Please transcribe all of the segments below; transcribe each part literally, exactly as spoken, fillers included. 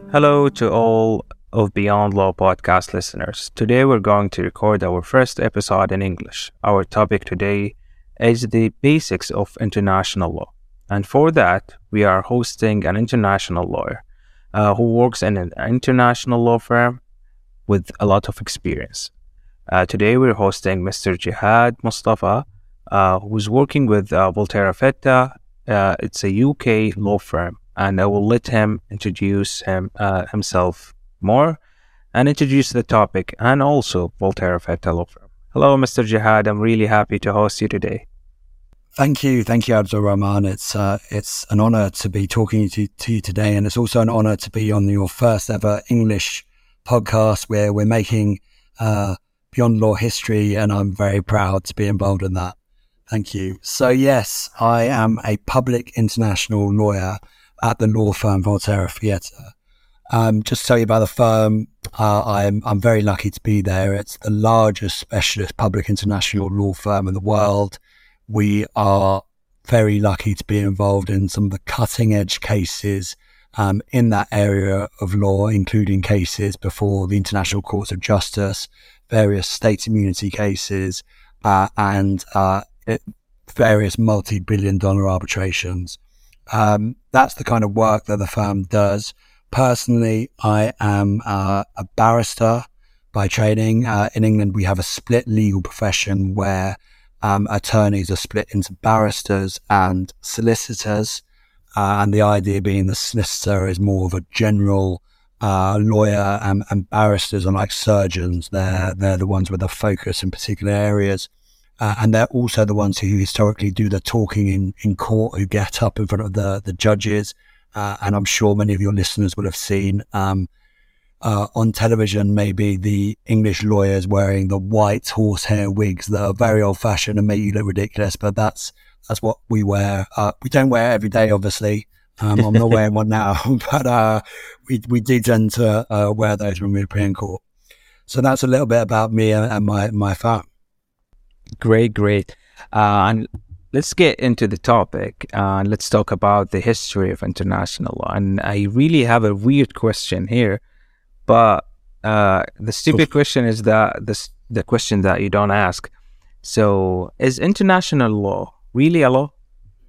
Hello to all of Beyond Law podcast listeners. Today we're going to record our first episode in English. Our topic today is the basics of international law. And for that, we are hosting an international lawyer uh, who works in an international law firm with a lot of experience. Uh, today we're hosting Mister Jihad Mustafa, uh, who's working with uh, Volterra Fitta. Uh, it's a U K law firm. And I will let him introduce him uh, himself more and introduce the topic and also Volterra Fitta Law Firm. Hello, Mister Jihad. I'm really happy to host you today. Thank you. Thank you, Abdul Rahman. It's uh, it's an honor to be talking to, to you today. And it's also an honor to be on your first ever English podcast where we're making uh, Beyond Law history. And I'm very proud to be involved in that. Thank you. So, yes, I am a public international lawyer at the law firm Volterra Fitta. Um, just to tell you about the firm, uh, I'm I'm very lucky to be there. It's the largest specialist public international law firm in the world. We are very lucky to be involved in some of the cutting edge cases um, in that area of law, including cases before the International Courts of Justice, various state immunity cases, uh, and uh, it, various multi-billion dollar arbitrations. Um, that's the kind of work that the firm does. Personally, I am uh, a barrister by training. Uh, in England, we have a split legal profession where um, attorneys are split into barristers and solicitors. Uh, and the idea being the solicitor is more of a general uh, lawyer, and, and barristers are like surgeons. They're, they're the ones with a focus in particular areas. Uh, and they're also the ones who historically do the talking in, in court, who get up in front of the, the judges. Uh, and I'm sure many of your listeners will have seen um, uh, on television, maybe the English lawyers wearing the white horsehair wigs that are very old fashioned and make you look ridiculous. But that's that's what we wear. Uh, we don't wear it every day, obviously. Um, I'm not wearing one now, but uh, we, we do tend to uh, wear those when we appear in court. So that's a little bit about me and, and my, my firm. Great, great. Uh, and let's get into the topic. Uh, let's talk about the history of international law. And I really have a weird question here, but uh, the stupid question is that the the question that you don't ask. So, is international law really a law?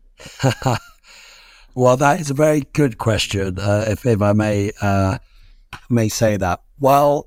Well, that is a very good question. Uh, if if I may uh, may say that. Well,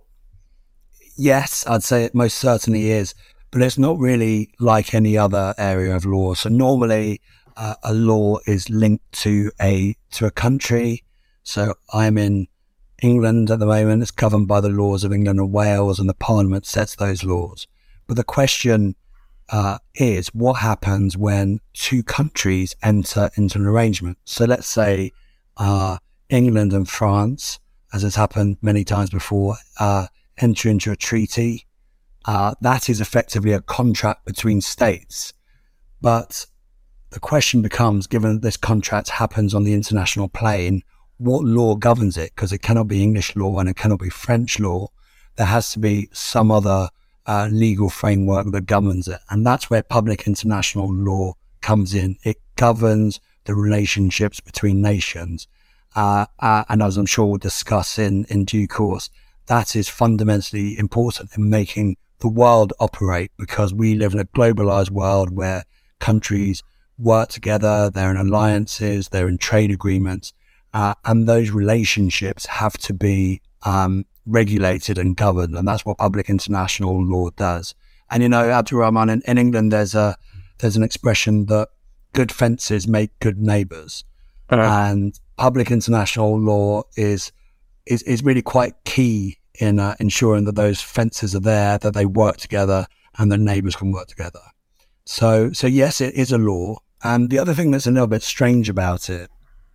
yes, I'd say it most certainly is. But it's not really like any other area of law. So normally uh, a law is linked to a to a country. So I'm in England at the moment. It's governed by the laws of England and Wales, and the Parliament sets those laws. But the question uh, is, what happens when two countries enter into an arrangement? So let's say uh, England and France, as has happened many times before, uh, enter into a treaty. Uh, that is effectively a contract between states. But the question becomes, given that this contract happens on the international plane, what law governs it? Because it cannot be English law and it cannot be French law. There has to be some other uh, legal framework that governs it. And that's where public international law comes in. It governs the relationships between nations. Uh, uh, and as I'm sure we'll discuss in, in due course, that is fundamentally important in making the world operate, because we live in a globalized world where countries work together, they're in alliances, they're in trade agreements, uh, and those relationships have to be um, regulated and governed, and that's what public international law does. And you know, Abdul Rahman, in, in England, there's a there's an expression that good fences make good neighbours, uh-huh. and public international law is is is really quite key in uh, ensuring that those fences are there, that they work together, and the neighbours can work together. So, so yes, it is a law. And the other thing that's a little bit strange about it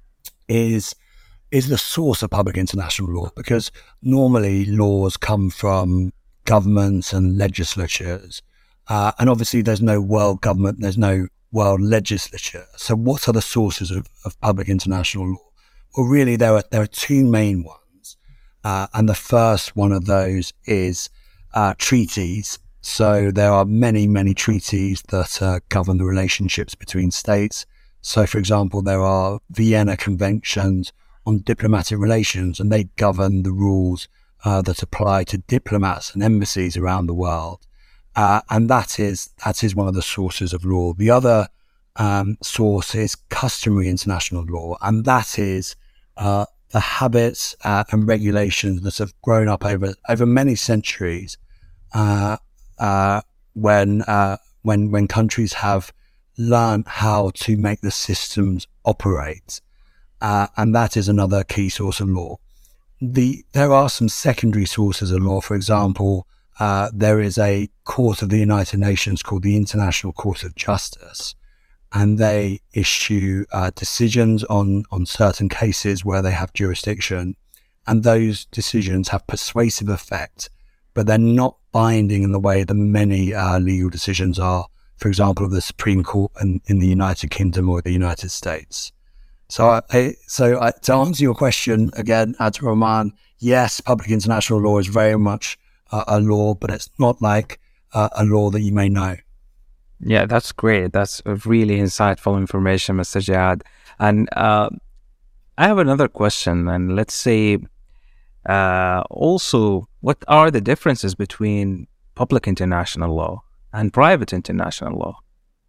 is is the source of public international law, because normally laws come from governments and legislatures, uh, and obviously there's no world government, there's no world legislature. So, what are the sources of, of public international law? Well, really, there are there are two main ones. Uh, and the first one of those is uh, treaties. So there are many, many treaties that uh, govern the relationships between states. So, for example, there are Vienna Conventions on diplomatic relations, and they govern the rules uh, that apply to diplomats and embassies around the world. Uh, and that is that is one of the sources of law. The other um, source is customary international law, and that is uh, the habits uh, and regulations that have grown up over over many centuries uh, uh, when uh, when when countries have learned how to make the systems operate, uh, and that is another key source of law. The there are some secondary sources of law. For example, uh, there is a court of the United Nations called the International Court of Justice, and they issue uh, decisions on on certain cases where they have jurisdiction, and those decisions have persuasive effect, but they're not binding in the way that many uh, legal decisions are. For example, of the Supreme Court in, in the United Kingdom or the United States. So, I, so I, to answer your question again, Abdurrahman, yes, public international law is very much uh, a law, but it's not like uh, a law that you may know. Yeah, that's great. That's a really insightful information, Mister Jihad. And uh, I have another question. And let's say, uh, also, what are the differences between public international law and private international law?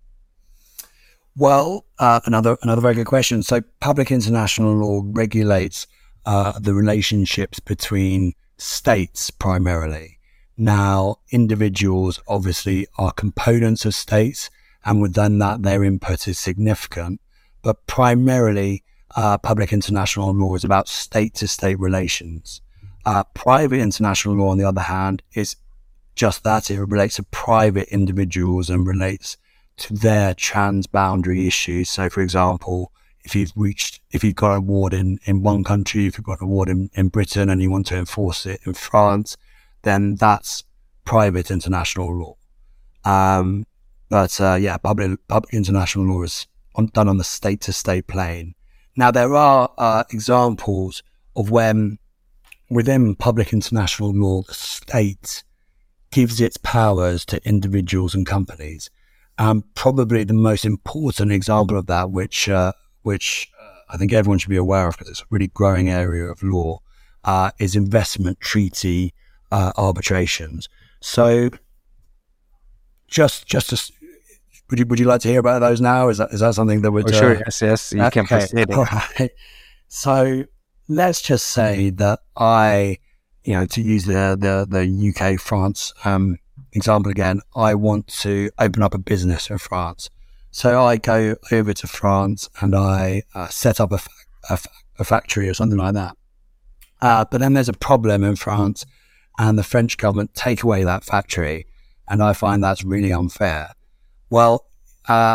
Well, uh, another another very good question. So public international law regulates uh, the relationships between states primarily. Now, individuals obviously are components of states, and within that, their input is significant. But primarily, uh, public international law is about state-to-state relations. Uh, private international law, on the other hand, is just that. It relates to private individuals and relates to their transboundary issues. So, for example, if you've reached, if you've got an award in, in one country, if you've got an award in, in Britain and you want to enforce it in France, then that's private international law. Um, but uh, yeah, public public international law is on, done on the state-to-state plane. Now, there are uh, examples of when within public international law, the state gives its powers to individuals and companies. Um, probably the most important example of that, which uh, which uh, I think everyone should be aware of because it's a really growing area of law, uh, is investment treaty uh, arbitrations. So, just just to, would you would you like to hear about those now? Is that is that something that would? Oh, sure. Uh, yes, yes. You okay. can proceed. All right. So let's just say that I. You know, to use the, the, the U K France um, example again, I want to open up a business in France. So I go over to France and I uh, set up a, fa- a, fa- a factory or something like that. Uh, but then there's a problem in France and the French government take away that factory, and I find that's really unfair. Well, uh,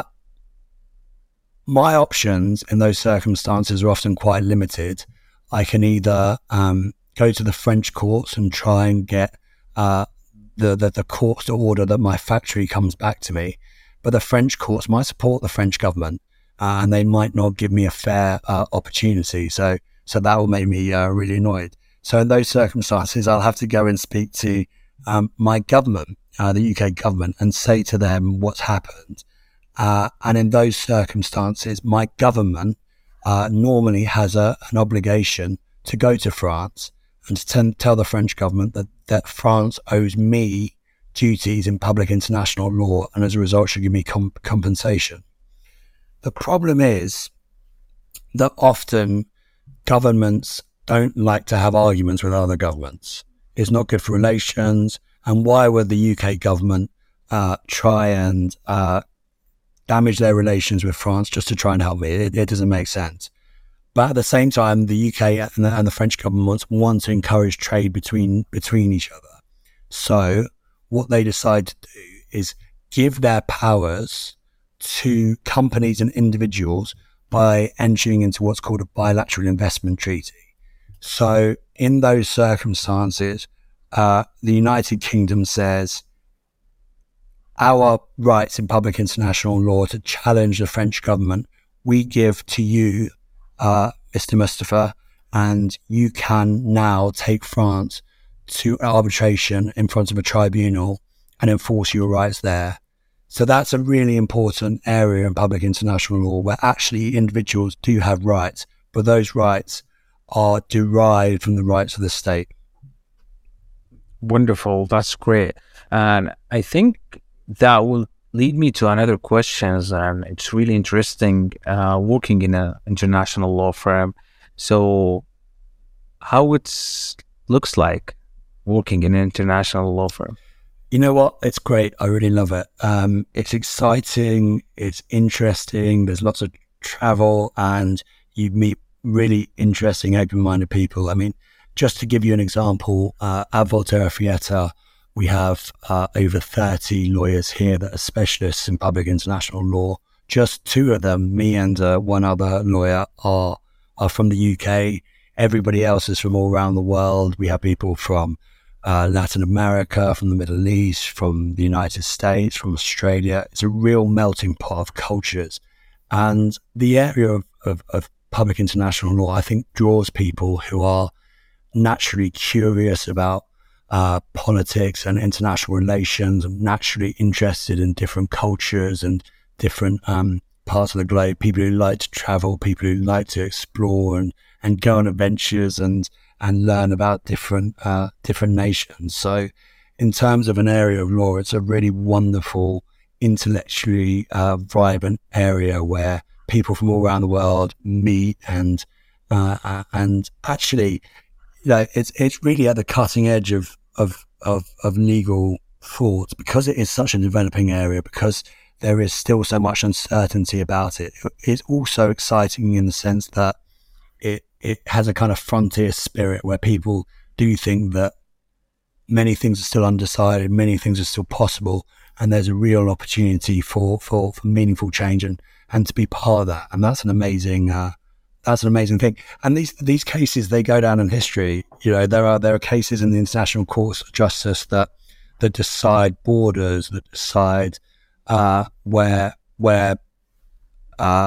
my options in those circumstances are often quite limited. I can either um, go to the French courts and try and get uh, the, the the courts to order that my factory comes back to me. But the French courts might support the French government uh, and they might not give me a fair uh, opportunity. So so that will make me uh, really annoyed. So in those circumstances, I'll have to go and speak to um, my government, uh, the U K government, and say to them what's happened. Uh, and in those circumstances, my government uh, normally has a, an obligation to go to France and to t- tell the French government that, that France owes me duties in public international law and as a result should give me comp- compensation. The problem is that often governments don't like to have arguments with other governments. It's not good for relations. And why would the U K government uh, try and uh, damage their relations with France just to try and help me? It, it doesn't make sense. But at the same time, the U K and the, and the French governments want to encourage trade between between each other. So what they decide to do is give their powers to companies and individuals by entering into what's called a bilateral investment treaty. So in those circumstances, uh, the United Kingdom says, our rights in public international law to challenge the French government, we give to you, uh, Mister Mustafa, and you can now take France to arbitration in front of a tribunal and enforce your rights there. So that's a really important area in public international law where actually individuals do have rights, but those rights are derived from the rights of the state. Wonderful. That's great. And I think that will lead me to another question. And it's really interesting uh, working in an international law firm. So how it looks like working in an international law firm? You know what? It's great. I really love it. Um, it's exciting. It's interesting. There's lots of travel and you meet really interesting, open-minded people. I mean, just to give you an example, uh, at Volterra Fietta, we have uh, over thirty lawyers here that are specialists in public international law. Just two of them, me and uh, one other lawyer, are are from the U K. Everybody else is from all around the world. We have people from uh, Latin America, from the Middle East, from the United States, from Australia. It's a real melting pot of cultures. And the area of, of, of public international law, I think, draws people who are naturally curious about uh, politics and international relations, and naturally interested in different cultures and different um, parts of the globe, people who like to travel, people who like to explore and, and go on adventures and, and learn about different uh, different nations. So in terms of an area of law, it's a really wonderful, intellectually uh, vibrant area where people from all around the world meet and uh, uh, and actually, you know, it's it's really at the cutting edge of, of of of legal thought, because it is such a developing area, because there is still so much uncertainty about it. It's also exciting in the sense that it it has a kind of frontier spirit where people do think that many things are still undecided, many things are still possible, and there's a real opportunity for for, for meaningful change and, and to be part of that. And that's an amazing uh, that's an amazing thing. And these these cases, they go down in history. You know, there are there are cases in the international courts of justice that that decide borders, that decide uh, where where uh,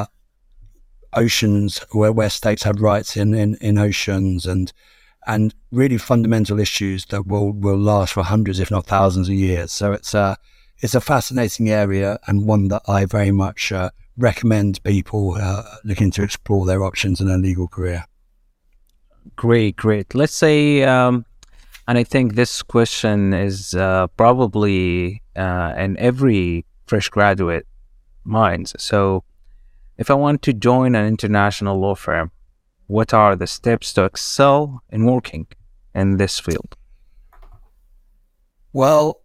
oceans, where where states have rights in, in, in oceans, and and really fundamental issues that will, will last for hundreds, if not thousands of years. So it's a it's a fascinating area, and one that I very much uh, recommend people uh, looking to explore their options in a legal career. Great, great. Let's say, um, and I think this question is uh, probably uh, in every fresh graduate minds. So if I want to join an international law firm, what are the steps to excel in working in this field? Well,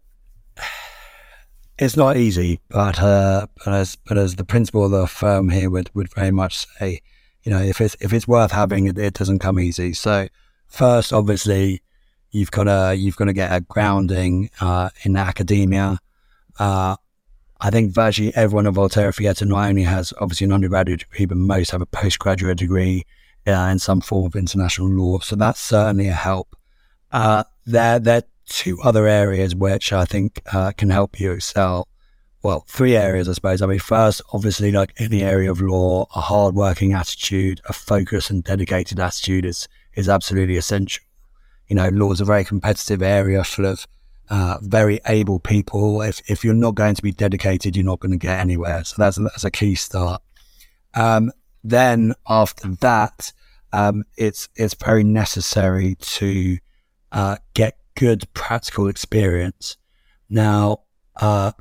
it's not easy, but uh, but as but as the principal of the firm here would, would very much say, you know, if it's if it's worth having, it, it doesn't come easy. So first, obviously, you've got to you've got to get a grounding uh, in academia. Uh, I think virtually everyone at Volterra Fietta not only has obviously an undergraduate degree, but most have a postgraduate degree uh, in some form of international law. So that's certainly a help. Uh, there, there are two other areas which I think uh, can help you excel. Well, three areas, I suppose. I mean, first, obviously, like any area of law, a hard-working attitude, a focused and dedicated attitude is is absolutely essential. You know, law is a very competitive area full of uh, very able people. If if you're not going to be dedicated, you're not going to get anywhere. So that's that's a key start. Um, then after that, um, it's it's very necessary to uh, get good practical experience. Now, uh,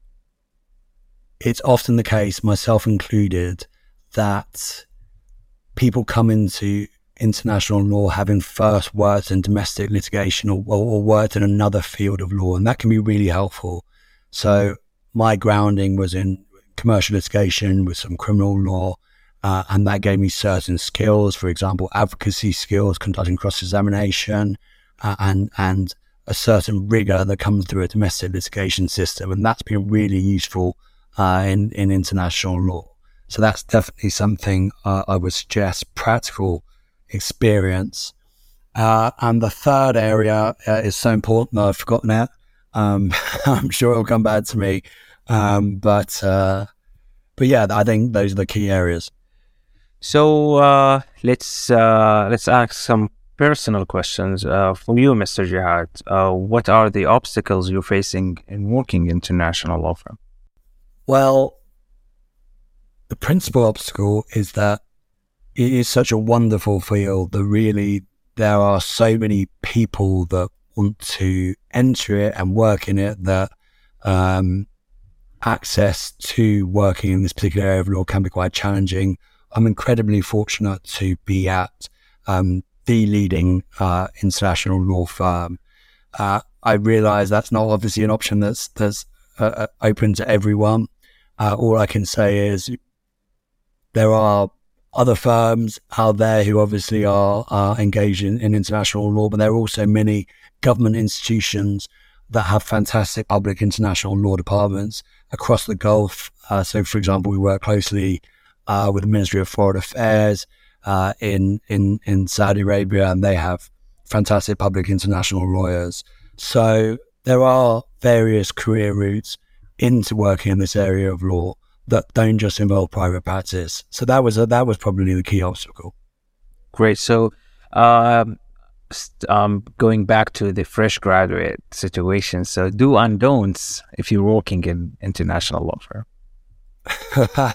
it's often the case, myself included, that people come into international law having first worked in domestic litigation or, or worked in another field of law, and that can be really helpful. So my grounding was in commercial litigation with some criminal law, uh, and that gave me certain skills, for example, advocacy skills, conducting cross-examination, uh, and and a certain rigor that comes through a domestic litigation system, and that's been really useful uh, in, in international law. So that's definitely something uh, I would suggest, practical experience. Uh, and the third area uh, is so important that I've forgotten it. Um, I'm sure it'll come back to me. Um, but uh, but yeah, I think those are the key areas. So uh, let's uh, let's ask some personal questions uh, for you, Mister Jihad. Uh, what are the obstacles you're facing in working international law firm? Well, the principal obstacle is that it is such a wonderful field that really there are so many people that want to enter it and work in it that um, access to working in this particular area of law can be quite challenging. I'm incredibly fortunate to be at um, the leading uh, international law firm. Uh, I realise that's not obviously an option that's that's uh, open to everyone. Uh, all I can say is there are other firms out there who obviously are, are engaged in, in international law, but there are also many government institutions that have fantastic public international law departments across the Gulf. Uh, so, for example, we work closely uh, with the Ministry of Foreign Affairs uh, in, in, in Saudi Arabia, and they have fantastic public international lawyers. So there are various career routes into working in this area of law that don't just involve private practice. So that was a, that was probably the key obstacle. Great. So um, st- um, going back to the fresh graduate situation, so do and don'ts if you're working in international law firm.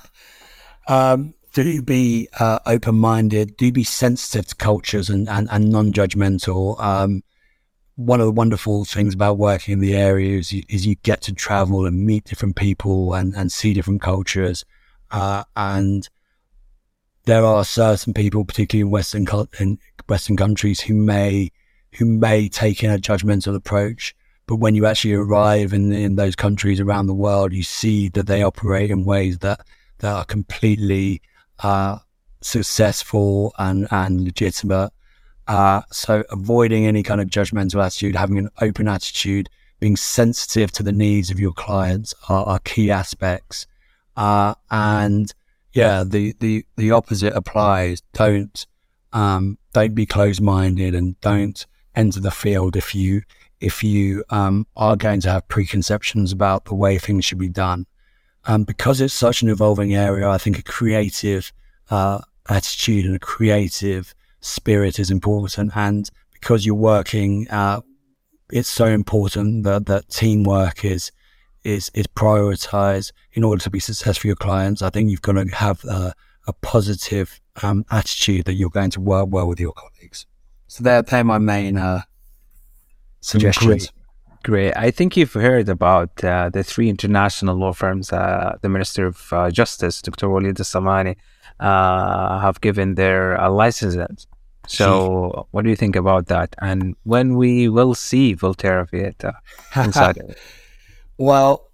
um, do be uh, open-minded, do be sensitive to cultures and, and, and non-judgmental. Um, one of the wonderful things about working in the area is you, is you get to travel and meet different people and, and see different cultures. Uh, and there are certain people, particularly in Western in Western countries, who may who may take in a judgmental approach. But when you actually arrive in, in those countries around the world, you see that they operate in ways that, that are completely uh, successful and, and legitimate. Uh, so avoiding any kind of judgmental attitude, having an open attitude, being sensitive to the needs of your clients are, are key aspects. Uh, and yeah, the, the, the opposite applies. Don't, um, don't be closed-minded and don't enter the field if you, if you, um, are going to have preconceptions about the way things should be done. Um, because it's such an evolving area, I think a creative, uh, attitude and a creative spirit is important, and because you're working, uh, it's so important that, that teamwork is is is prioritized in order to be successful for your clients. I think you've got to have a, a positive um, attitude that you're going to work well with your colleagues. So they're, they're my main uh, suggestions. Great. Great. I think you've heard about uh, the three international law firms uh, the Minister of uh, Justice, Doctor Walid Al-Samani, uh, have given their uh, licenses. So what do you think about that? And when we will see Volterra Fietta inside it? Well,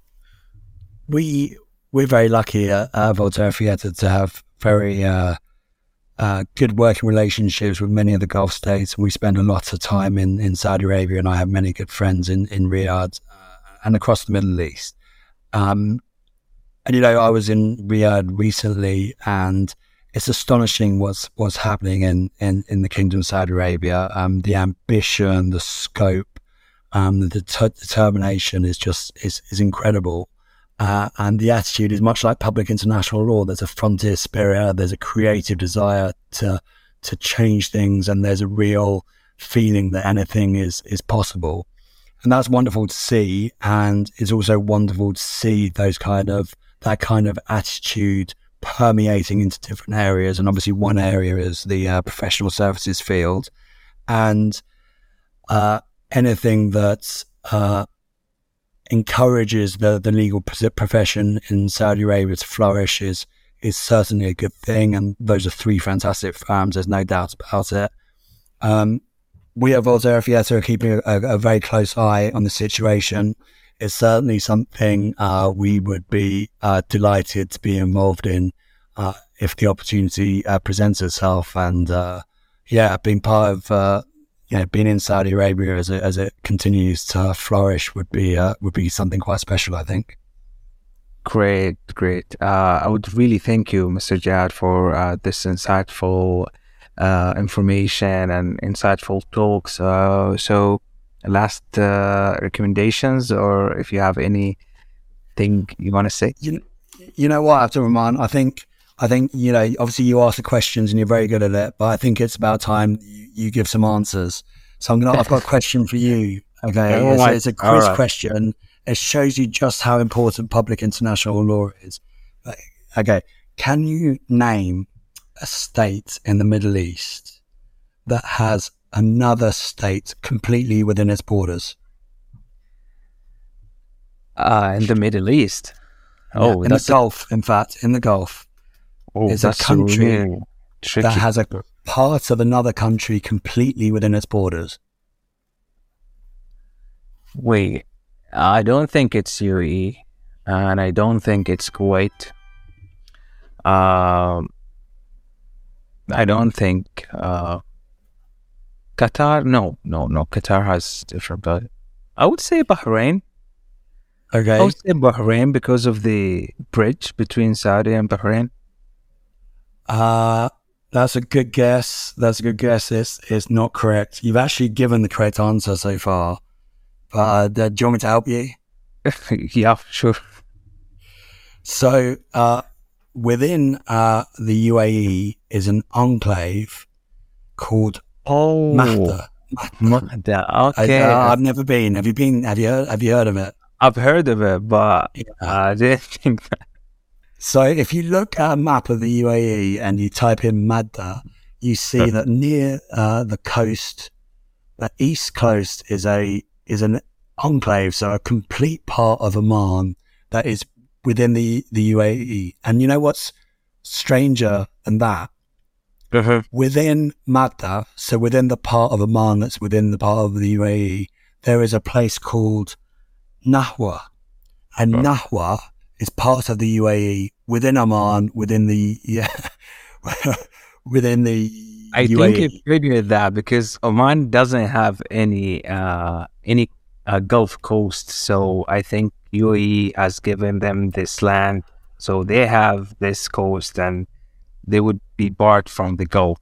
we, we're very lucky at uh, Volterra Fietta to have very uh, uh, good working relationships with many of the Gulf states. We spend a lot of time in, in Saudi Arabia, and I have many good friends in, in Riyadh uh, and across the Middle East. Um, and, you know, I was in Riyadh recently, and it's astonishing what's what's happening in, in, in the Kingdom of Saudi Arabia. Um, the ambition, the scope, um, the det- determination is just is, is incredible. Uh, and the attitude is much like public international law. There's a frontier spirit, there's a creative desire to to change things, and there's a real feeling that anything is is possible. And that's wonderful to see. And it's also wonderful to see those kind of that kind of attitude permeating into different areas. And obviously one area is the uh, professional services field, and uh, anything that uh, encourages the, the legal profession in Saudi Arabia to flourish is, is certainly a good thing. And those are three fantastic firms, there's no doubt about it. Um, we at Volterra Fietta are keeping a, a very close eye on the situation. It's certainly something uh, we would be uh, delighted to be involved in uh, if the opportunity uh, presents itself. And uh, yeah, being part of, uh, you know, being in Saudi Arabia as it, as it continues to flourish would be uh, would be something quite special, I think. Great, great. Uh, I would really thank you, Mister Jad, for uh, this insightful uh, information and insightful talks. Uh, so. Last uh, recommendations, or if you have anything you want to say? You, you know what, Abdurrahman, I think, I think, you know, obviously you ask the questions and you're very good at it, but I think it's about time you, you give some answers. So I'm gonna, I've got a question for you. Okay, oh, it's, my, it's a quiz right. question. It shows you just how important public international law is. Okay, can you name a state in the Middle East that has another state completely within its borders? Uh, in the Middle East. Yeah, Oh, in that's the Gulf, in fact, in the Gulf. Oh, It's a that's country really tricky. that has a part of another country completely within its borders. Wait, I don't think it's U A E, and I don't think it's Kuwait. Um, I don't think uh, Qatar. No, no, no. Qatar has different, but I would say Bahrain. Okay. I would say Bahrain because of the bridge between Saudi and Bahrain. Uh, that's a good guess. That's a good guess. It's, it's not correct. You've actually given the correct answer so far. But uh, do you want me to help you? Yeah, sure. So, uh, within uh, the U A E is an enclave called Oh, Mahda. Mahda. I, Okay, uh, I've never been. Have you been? Have you heard? Have you heard of it? I've heard of it, but Yeah. I didn't think that. So, if you look at a map of the U A E and you type in Madda, you see that near uh, the coast, the east coast is a is an enclave, so a complete part of Oman that is within the the U A E. And you know what's stranger than that? Uh-huh. Within Madda, so within the part of Oman that's within the part of the U A E, there is a place called Nahwa. And Oh. Nahwa is part of the U A E within Oman, within the, yeah, within the I U A E. think it figured that because Oman doesn't have any uh, any uh, Gulf coast, so I think U A E has given them this land, so they have this coast, and they would be barred from the Gulf.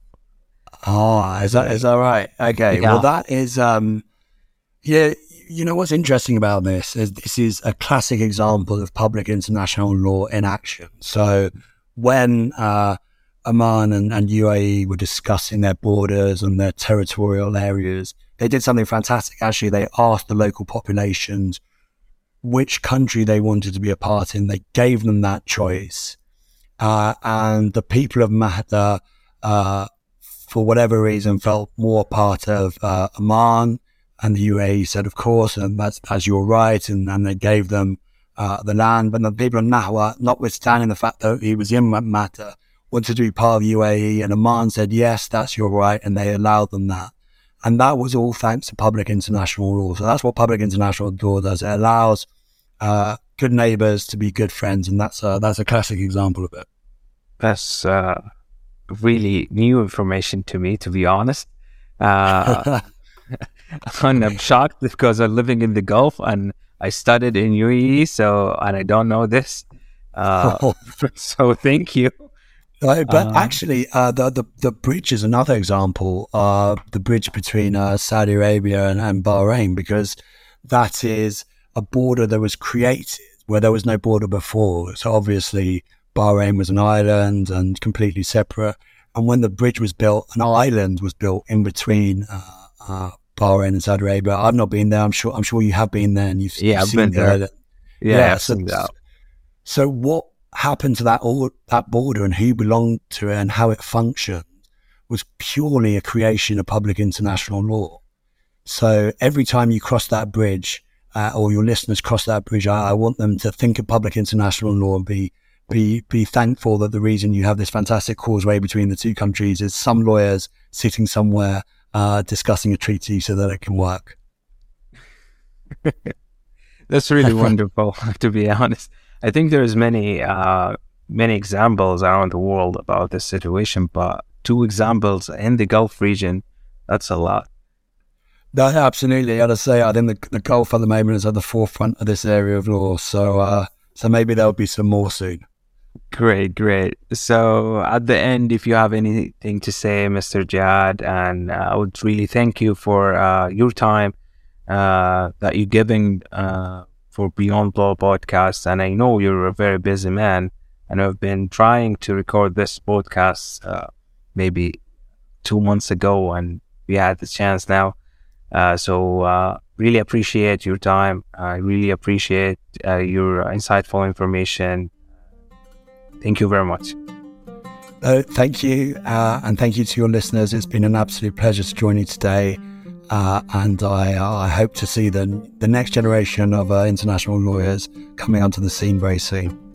Oh, is that, is that right? Okay. Yeah. Well, that is, um, yeah, you know what's interesting about this is this is a classic example of public international law in action. So when uh, Oman and, and U A E were discussing their borders and their territorial areas, they did something fantastic. Actually, they asked the local populations which country they wanted to be a part in. They gave them that choice. Uh, and the people of Mahda, uh, for whatever reason, felt more part of uh, Oman. And the U A E said, of course, and that's, that's your right. And, and they gave them uh, the land. But the people of Nahwa, notwithstanding the fact that he was in Mahda, wanted to be part of U A E. And Oman said, yes, that's your right. And they allowed them that. And that was all thanks to public international law. So that's what public international law does. It allows uh, good neighbors to be good friends. And that's a, that's a classic example of it. That's uh, really new information to me, to be honest. Uh, and I'm shocked because I'm living in the Gulf and I studied in U A E, so and I don't know this. Uh, so thank you. Uh, but Um, actually, uh, the, the the bridge is another example. Uh, the bridge between uh, Saudi Arabia and, and Bahrain, because that is a border that was created where there was no border before. So obviously, Bahrain was an island and completely separate. And when the bridge was built, an island was built in between uh, uh, Bahrain and Saudi Arabia. I've not been there. I'm sure. I'm sure you have been there, and you've, Yeah, you've I've seen been the there. island. yeah, Yeah, I've so- seen that. So what happened to that all that border and who belonged to it and how it functioned was purely a creation of public international law. So every time you cross that bridge, uh, or your listeners cross that bridge, I, I want them to think of public international law and be be be thankful that the reason you have this fantastic causeway between the two countries is some lawyers sitting somewhere uh, discussing a treaty so that it can work. That's really wonderful, to be honest. I think there's many uh, many examples around the world about this situation, but two examples in the Gulf region, that's a lot. No, absolutely. I'd say I think the, the Gulf at the moment is at the forefront of this area of law. So, uh, so maybe there'll be some more soon. Great, great. So at the end, if you have anything to say, Mister Jad, and uh, I would really thank you for uh, your time uh, that you're giving uh, for Beyond Law podcast. And I know you're a very busy man, and I've been trying to record this podcast uh, maybe two months ago, and we had the chance now. Uh, so uh, really appreciate your time. I really appreciate uh, your insightful information. Thank you very much. Uh, thank you, uh, and thank you to your listeners. It's been an absolute pleasure to join you today, uh, and I, I hope to see the, the next generation of uh, international lawyers coming onto the scene very soon.